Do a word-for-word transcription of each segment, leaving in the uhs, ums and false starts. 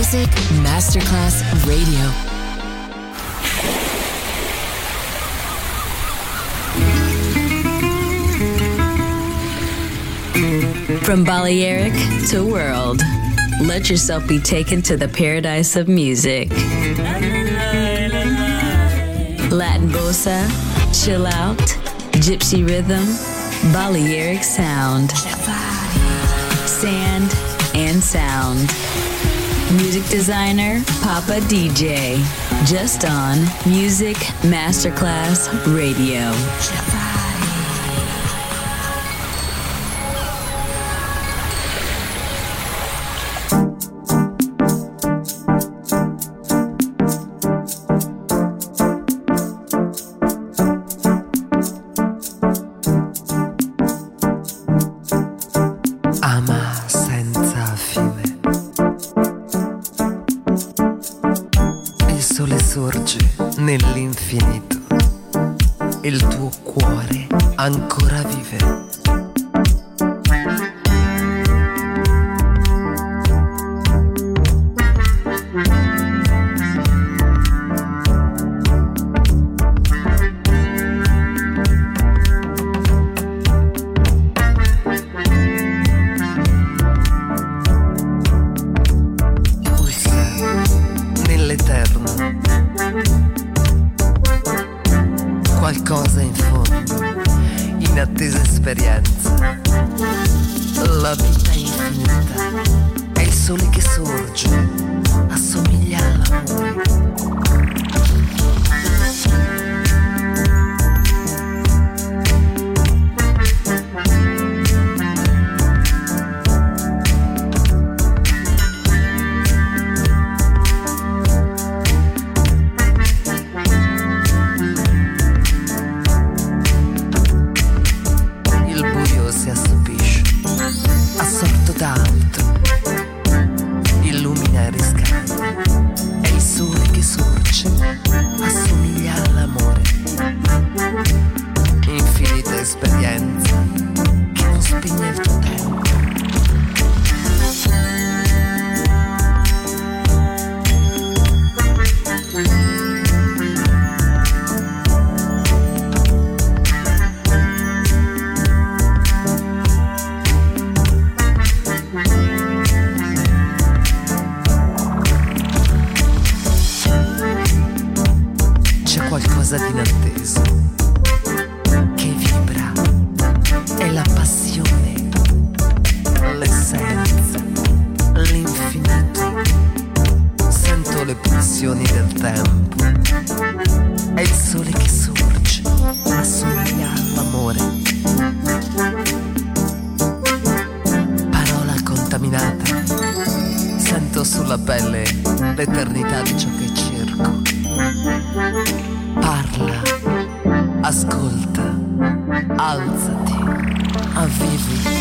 Music Masterclass Radio. From Balearic to world, let yourself be taken to the paradise of music. Latin bossa, chill out, gypsy rhythm, Balearic sound, sand and sound. Music designer, Papa D J, just on Music Masterclass Radio. Nell'infinito il tuo cuore ancora vive. Qualcosa in fondo, inattesa esperienza. La vita è infinita, è il sole che sorge, assomiglia all'amore. Qualcosa di inatteso che vibra, è la passione, l'essenza, l'infinito. Sento le pulsioni del tempo, è il sole che sorge, assomiglia all'amore. Parola contaminata, sento sulla pelle l'eternità di ciò che cerco. Parla, ascolta, alzati, avvivi.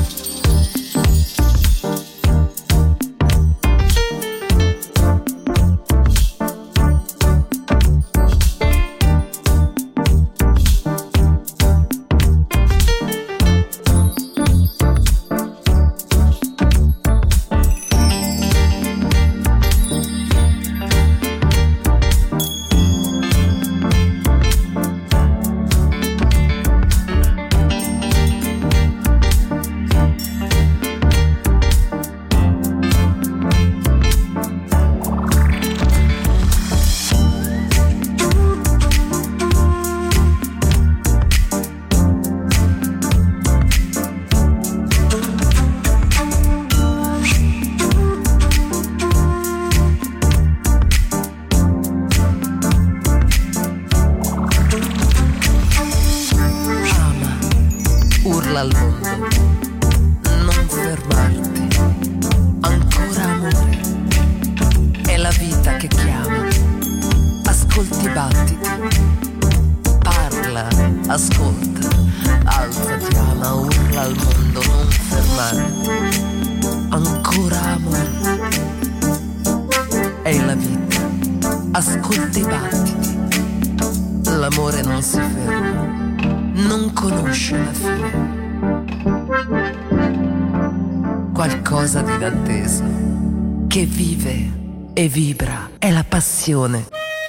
Al mondo, non fermarti, ancora amore, è la vita che chiama, ascolti i battiti, parla, ascolta, alzati, ama, urla al mondo, non fermarti, ancora amore, è la vita, ascolti i battiti, l'amore non si ferma, non conosce la fine. Qualcosa di inatteso che vive e vibra, è la passione.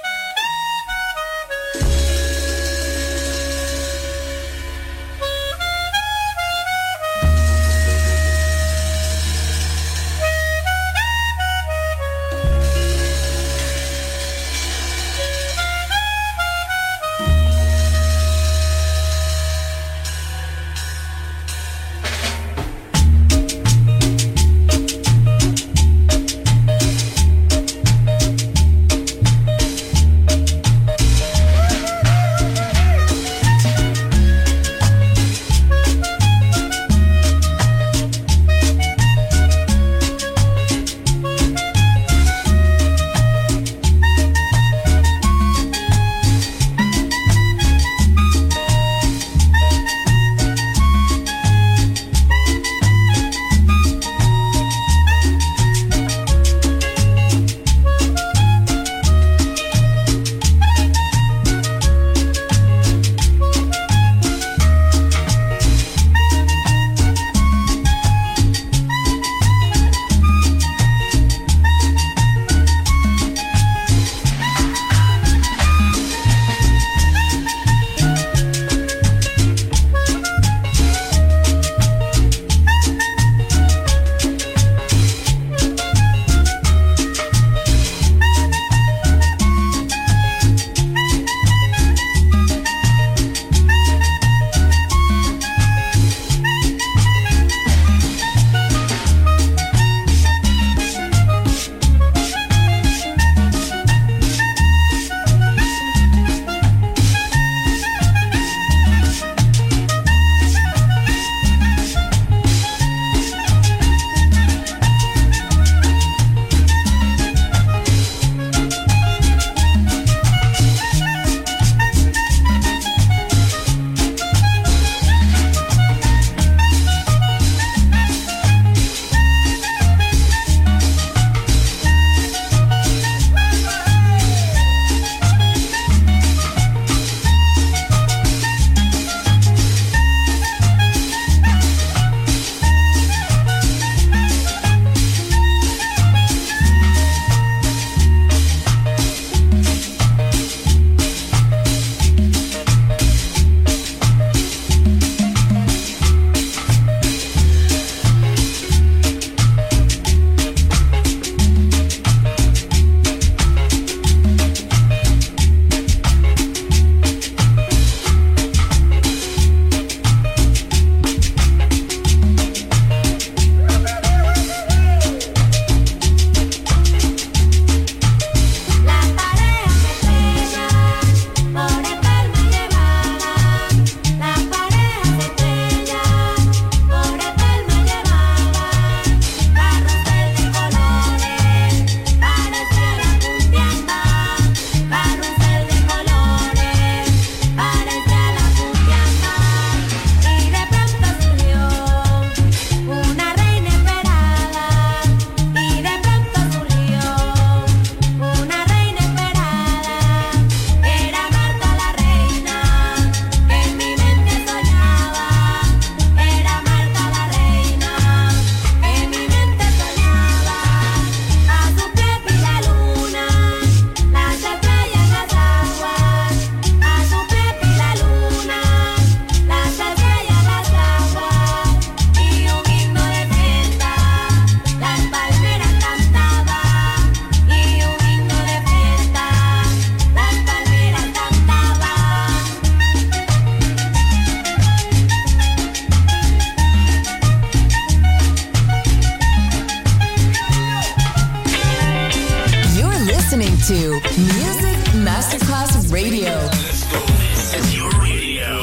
to Music Masterclass Radio. Let's go. This is your radio.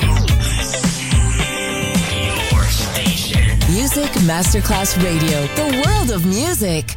Your station. Music Masterclass Radio. The world of music.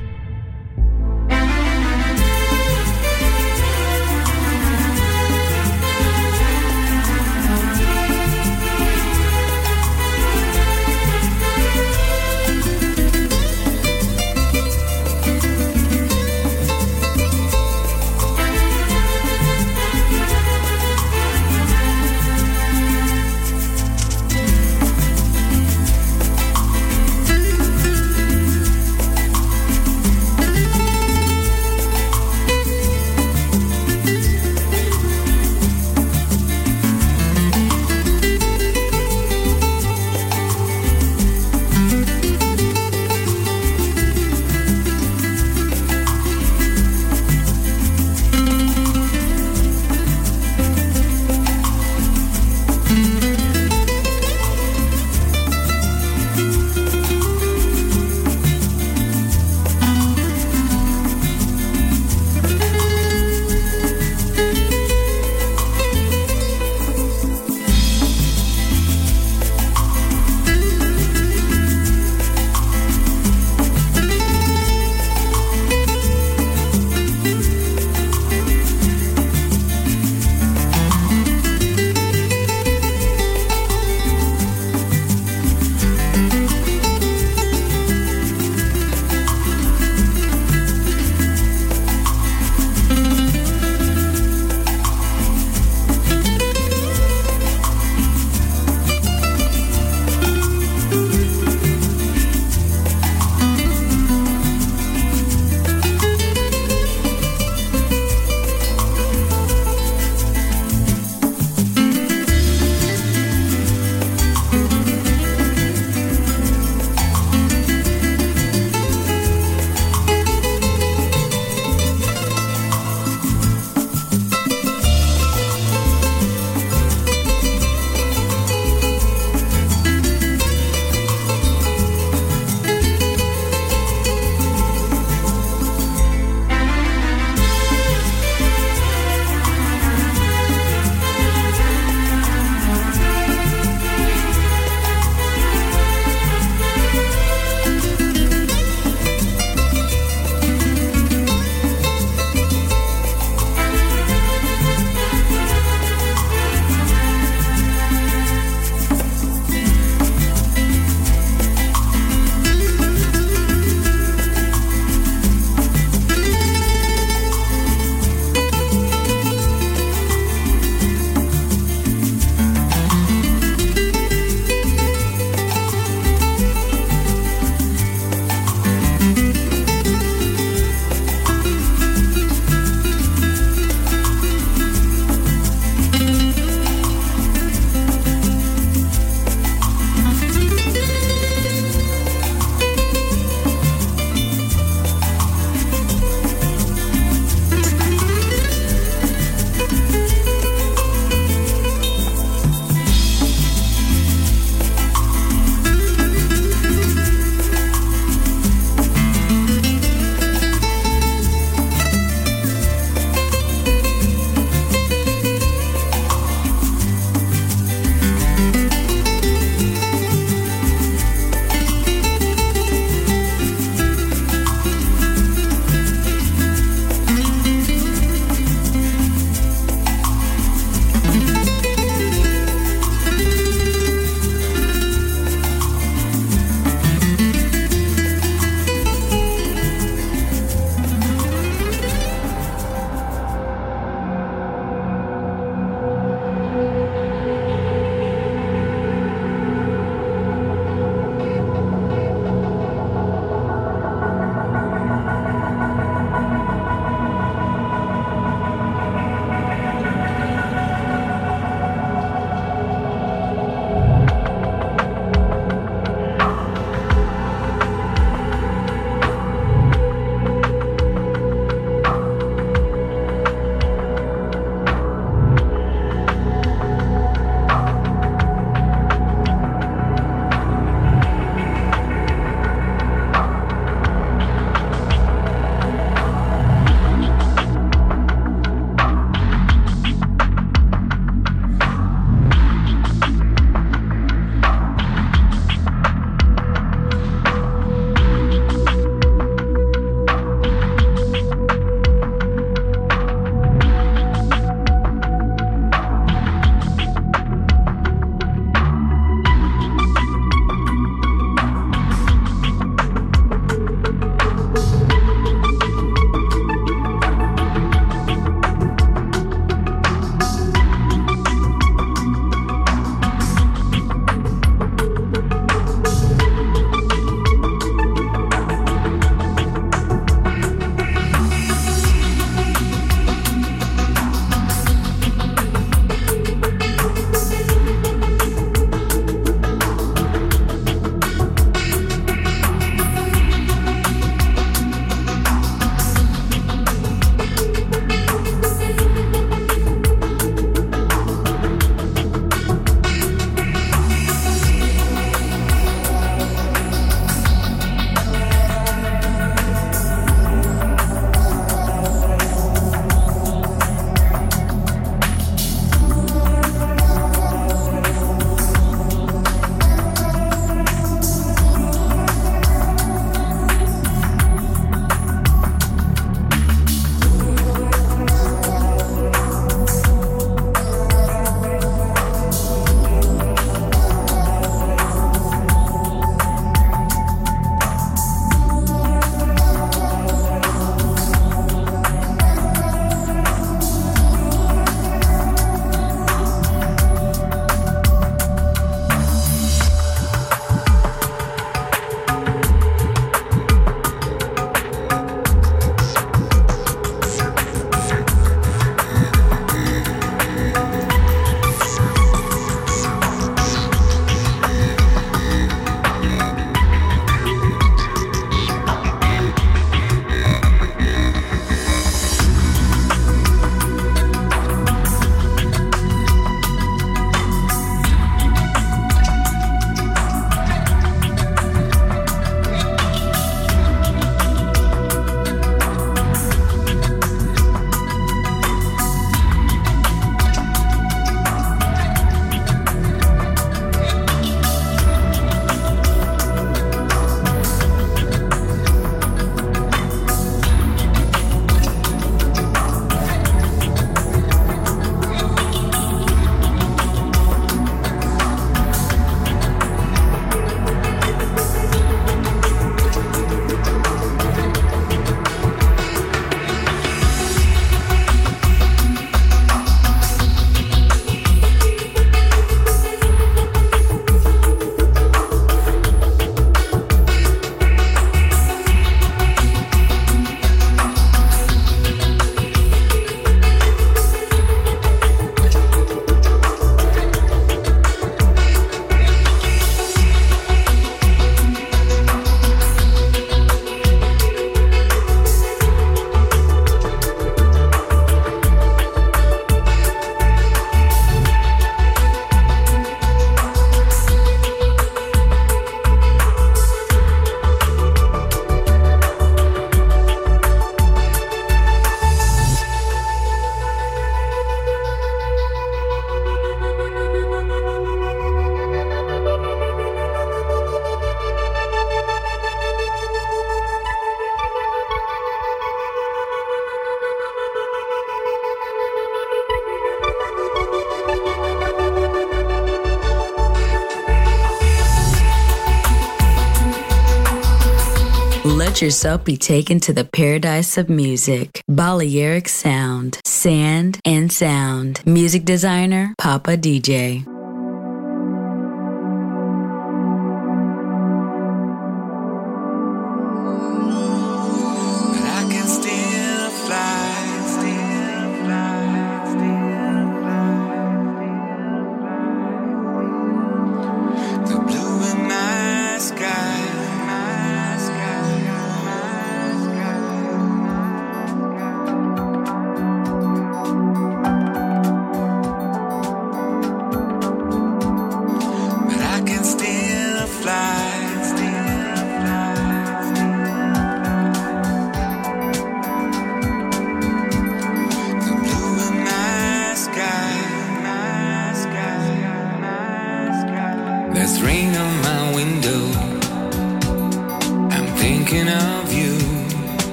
Let yourself be taken to the paradise of music. Balearic Sound, Sand and Sound. Music designer, Papa D J.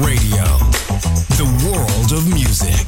Radio, the world of music.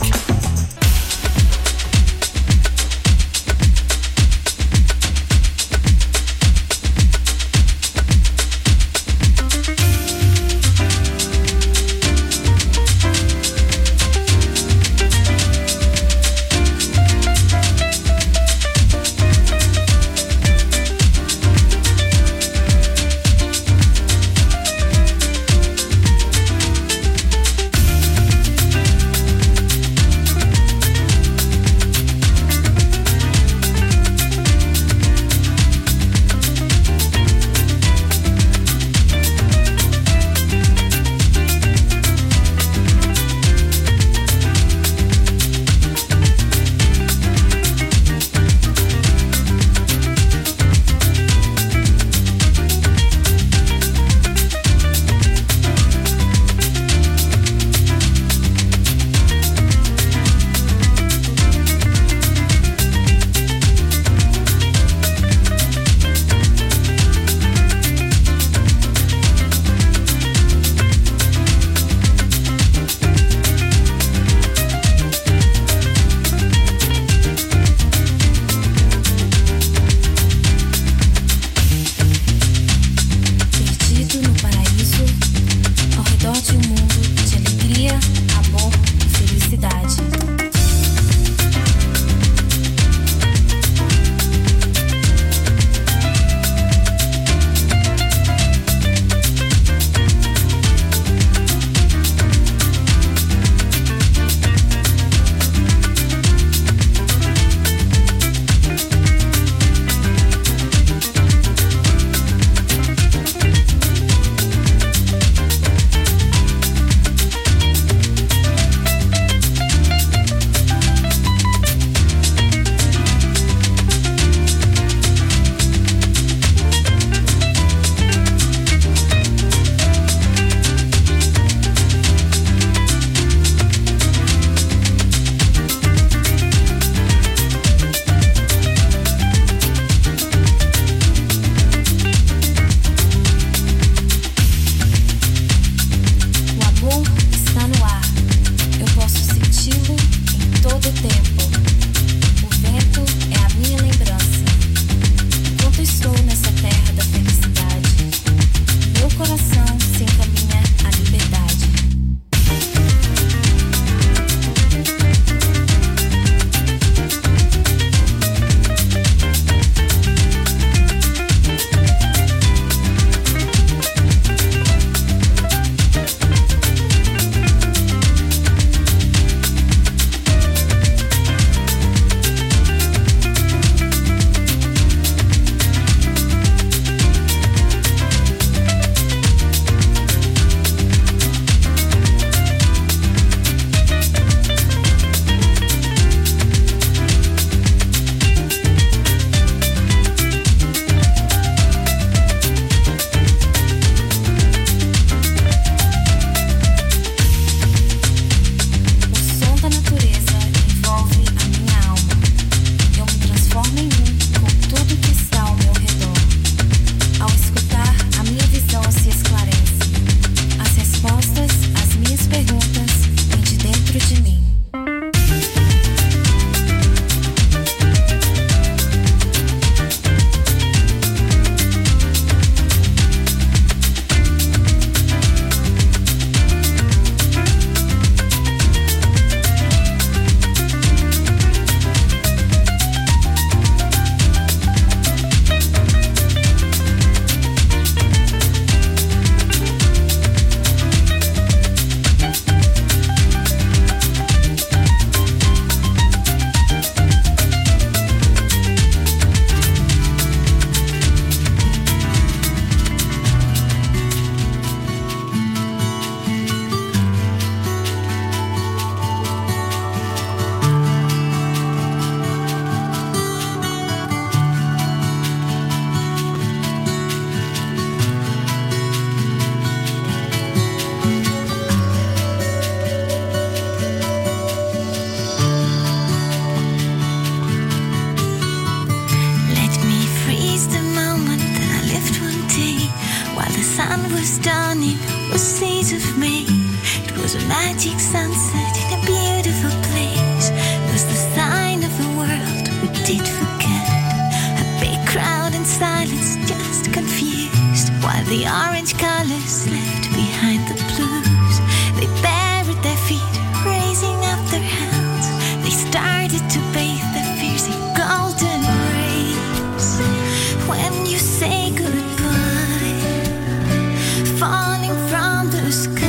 a magic sunset in a beautiful place. Was the sign of a world we did forget. A big crowd in silence, just confused, while the orange colors left behind the blues. They buried their feet, raising up their hands. They started to bathe their fears in golden rays. When you say goodbye, falling from the sky,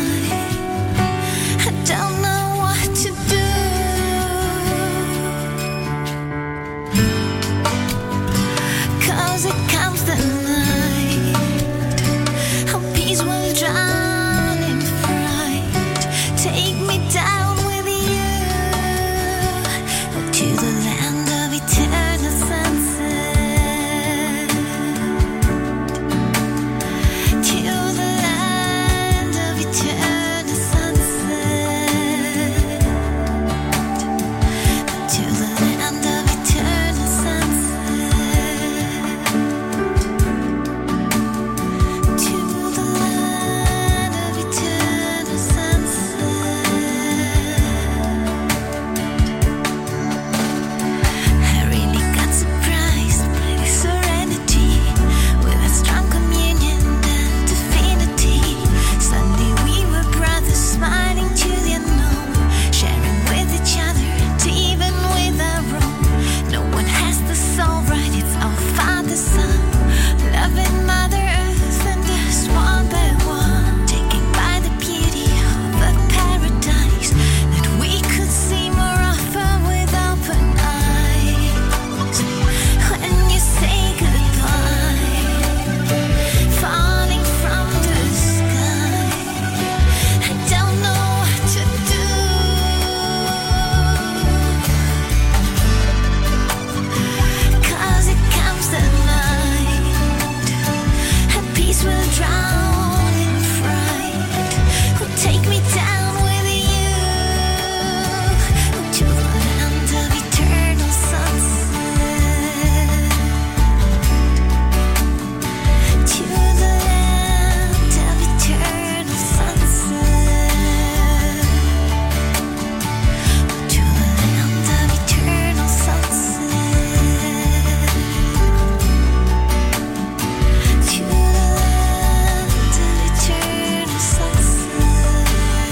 I don't know what to do. 'Cause it comes the night, our peace will drown in fright. Take me down with you to the land of eternal sunset. To the land of eternal sunset. To the land of eternal sunset. To the land of eternal sunset. I really got surprised by the serenity, with a strong communion and affinity. Suddenly we were brothers, smiling to the unknown, sharing with each other and even with our own. No one has the soul right, it's all Father, Son, loving Mother Earth and us one by one, taken by the beauty of a paradise that we could see more often with open eyes. When you say goodbye, falling from the sky, I don't know what to do. 'Cause it comes the night, and peace will drown in fright. Will take me down with you to the land of eternal sunset. To the land of eternal sunset. To the land of eternal sunset. To the land of eternal sunset.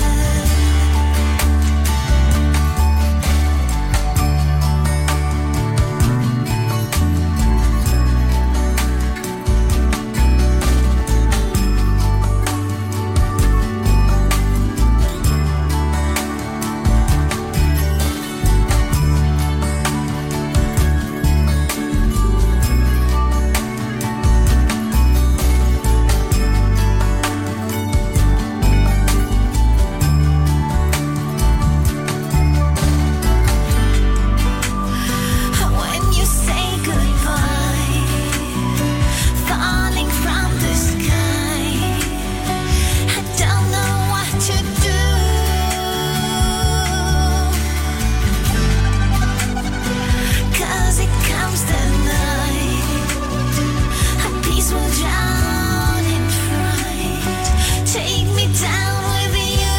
When you say goodbye, falling from the sky, I don't know what to do. 'Cause it comes the night, and peace will drown in fright. Take me down with you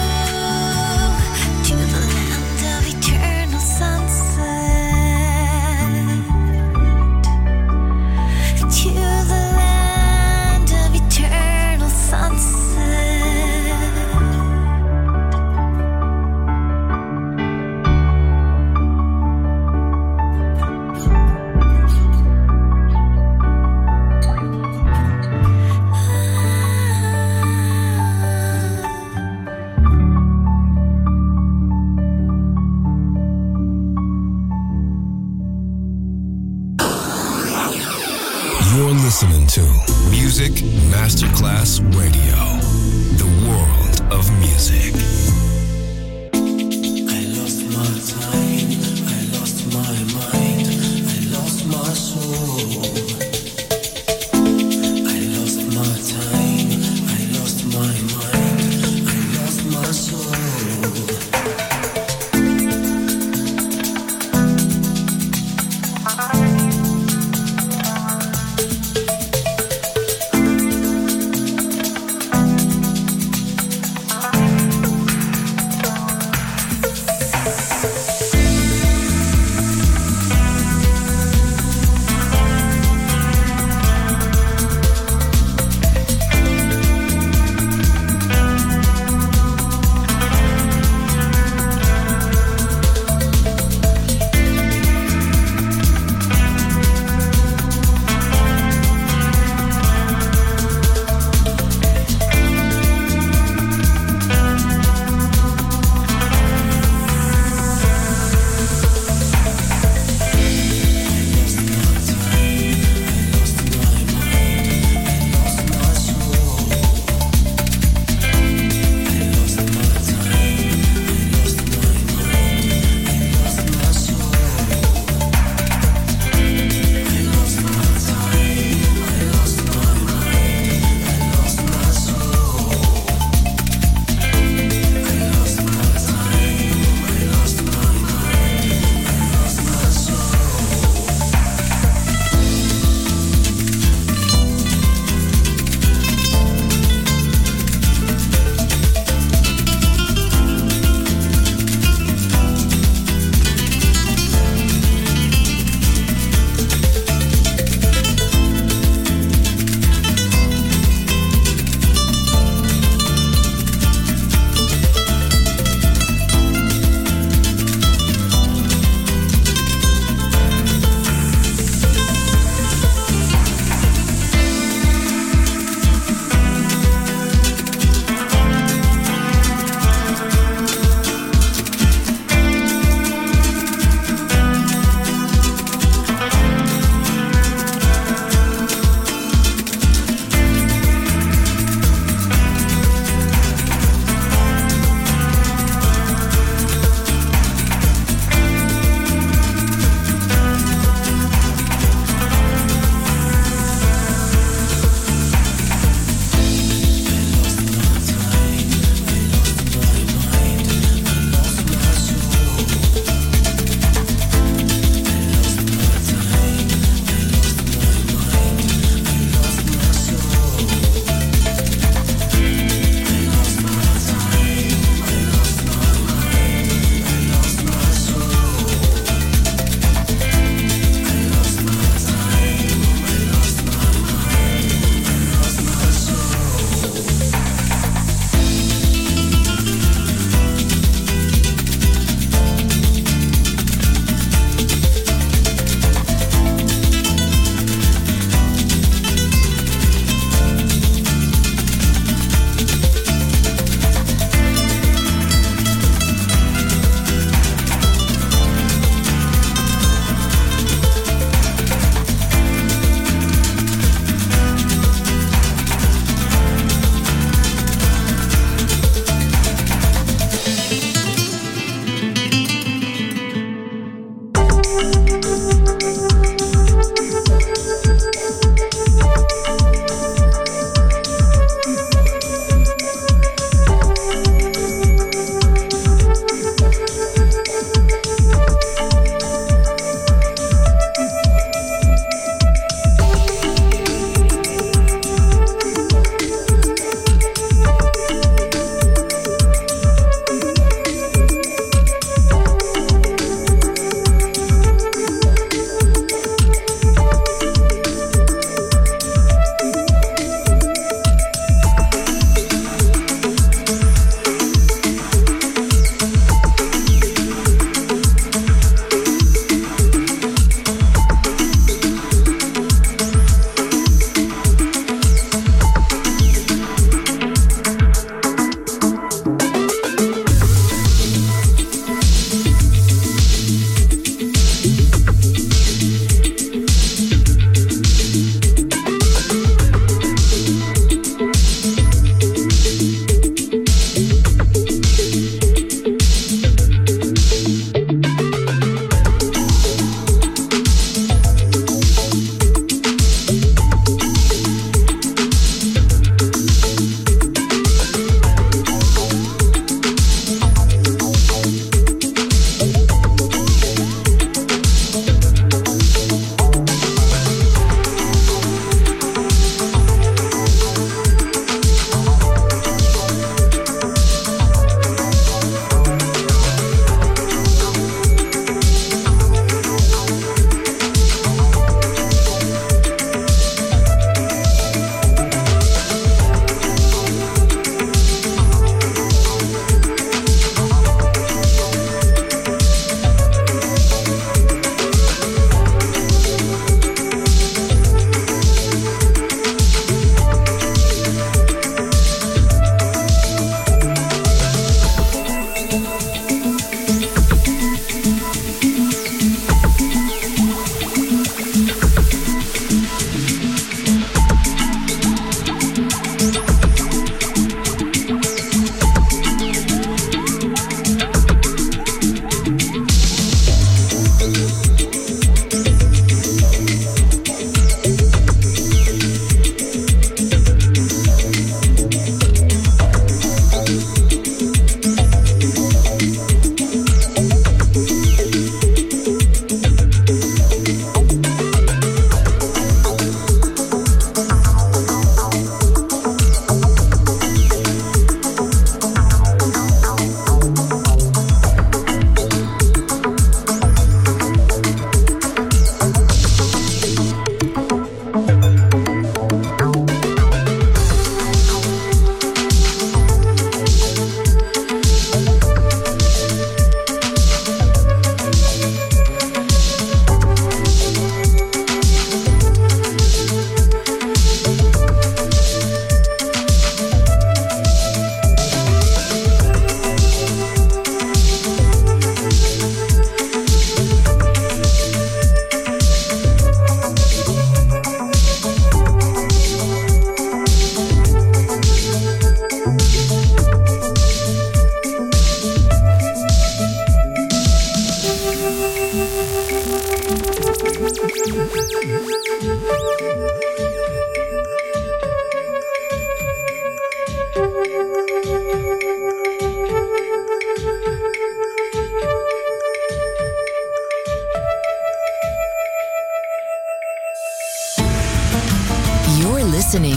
to the land of eternal sunset. To the land of eternal sunset. You're listening to Music Masterclass Radio, the world of music. I lost my time, I lost my mind, I lost my soul. I lost my time, I lost my mind, I lost my soul.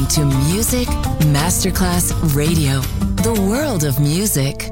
listening to Music Masterclass Radio, the world of music.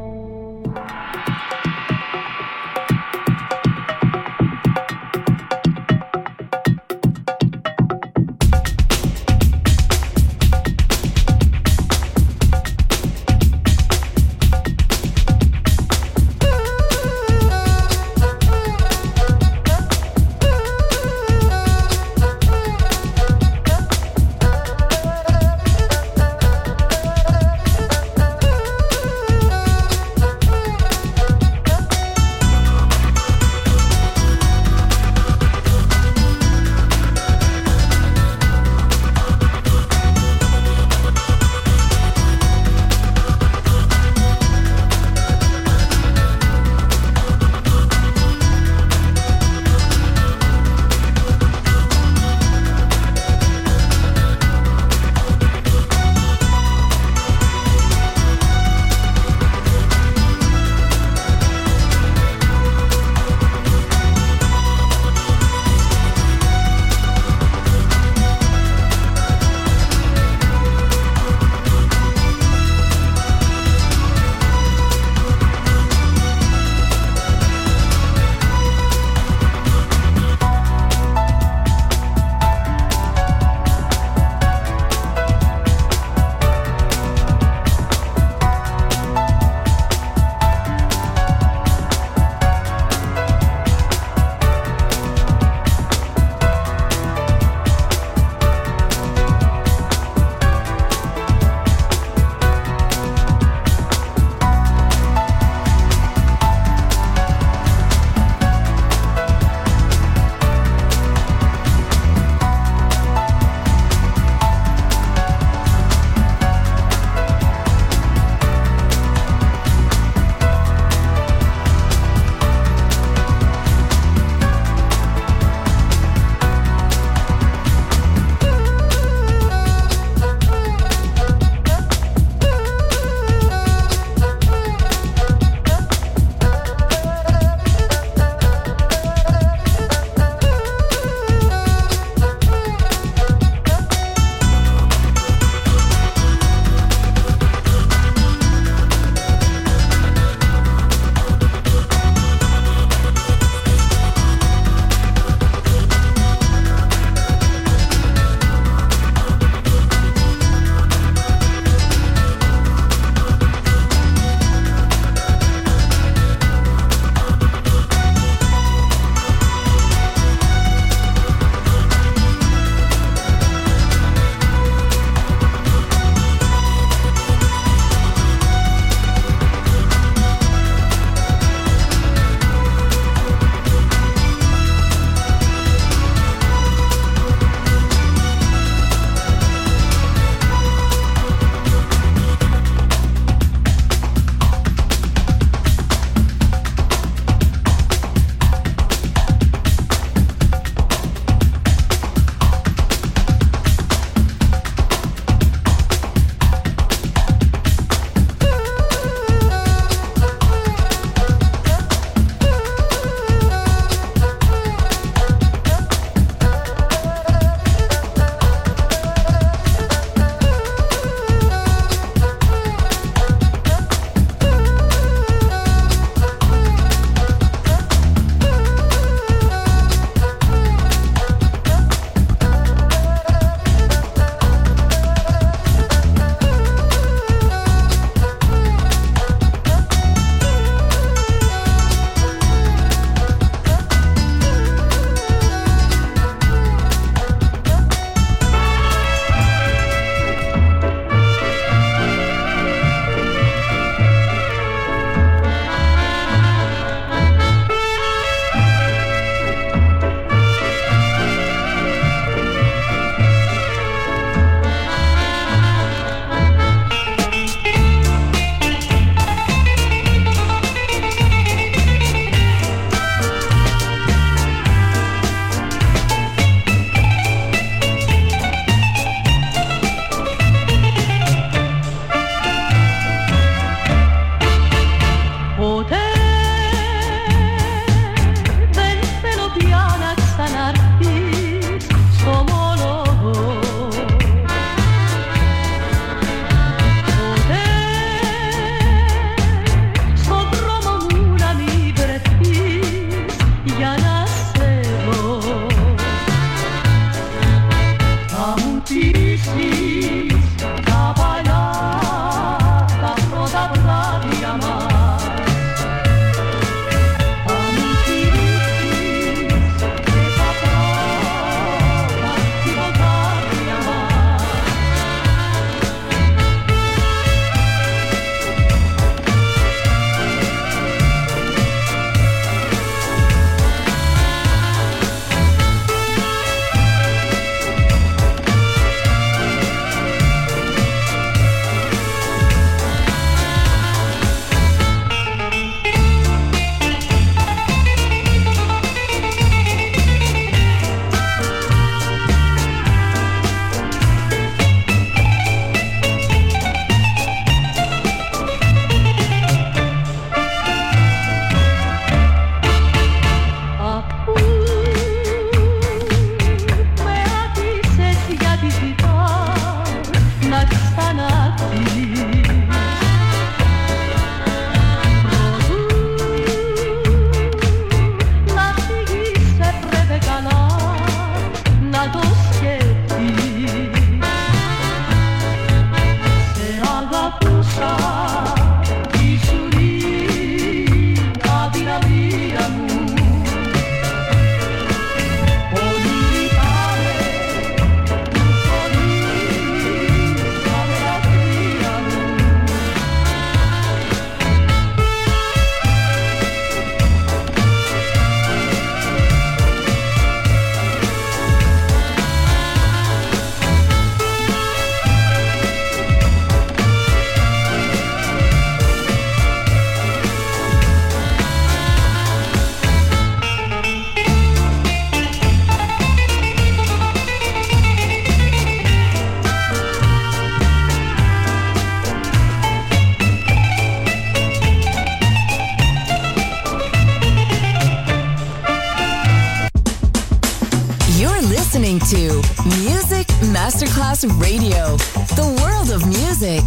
Masterclass Radio, the world of music.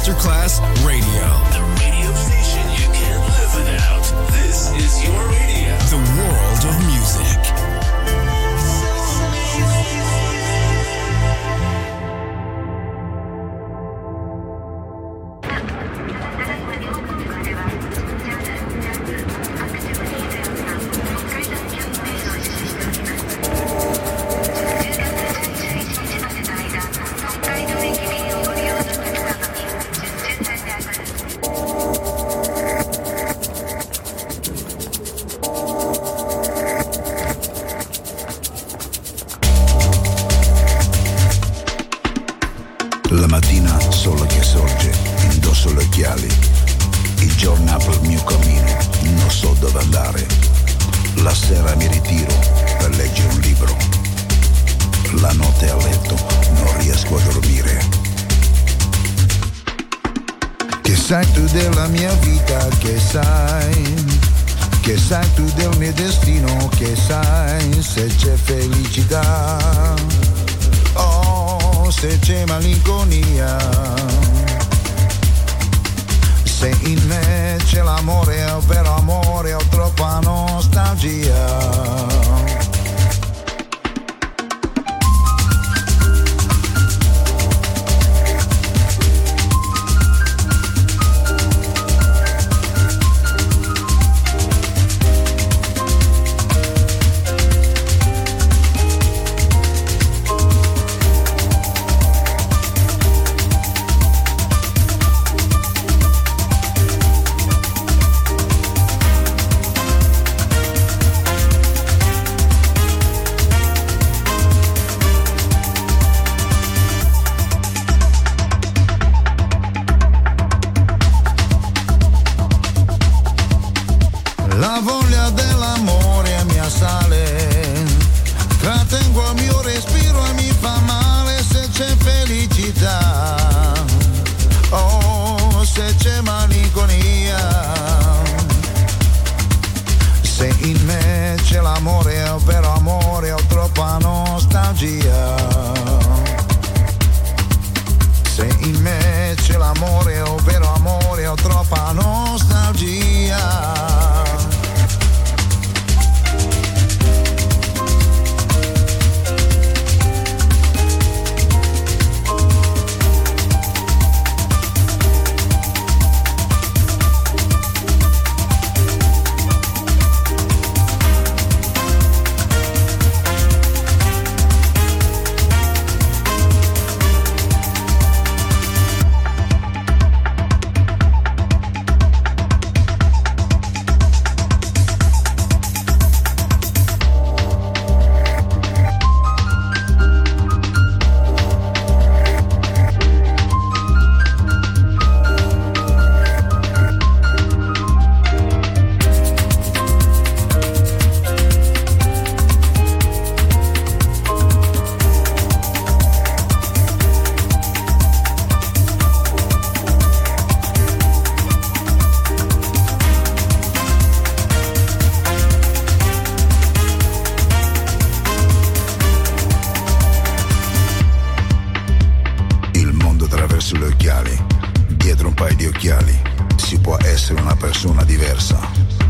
Masterclass Radio. The radio station you can't live without. This is your radio. The world of music. La mattina sole che sorge, indosso le occhiali. Il giorno apre il mio cammino, non so dove andare. La sera mi ritiro per leggere un libro. La notte a letto non riesco a dormire. Che sai tu della mia vita, che sai? Che sai tu del mio destino, che sai se c'è felicità? Oh, se c'è malinconia, se in me c'è l'amore, è vero amore, ho troppa nostalgia. La voglia dell'amore mi assale, trattengo il mio respiro e mi fa male se c'è felicità, oh se c'è malinconia, se in me c'è l'amore, è vero amore, ho troppa nostalgia, se in me c'è l'amore, è vero amore, ho troppa nostalgia. Sulle occhiali, dietro un paio di occhiali, si può essere una persona diversa.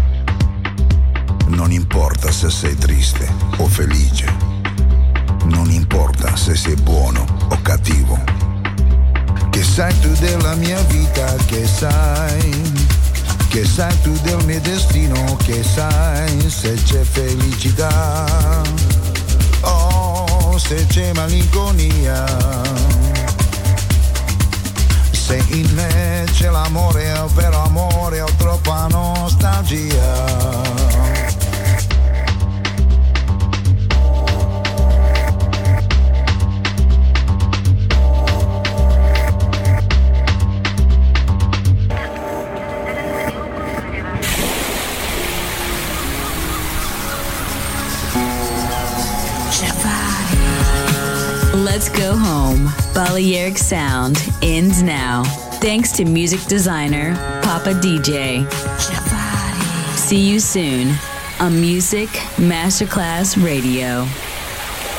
Non importa se sei triste o felice, non importa se sei buono o cattivo. Che sai tu della mia vita, che sai? Che sai tu del mio destino, che sai se c'è felicità? Oh, se c'è malinconia, se in me c'è l'amore, è vero amore, ho troppa nostalgia. Let's go home. Balearic Sound ends now. Thanks to music designer Papa D J. See you soon on Music Masterclass Radio.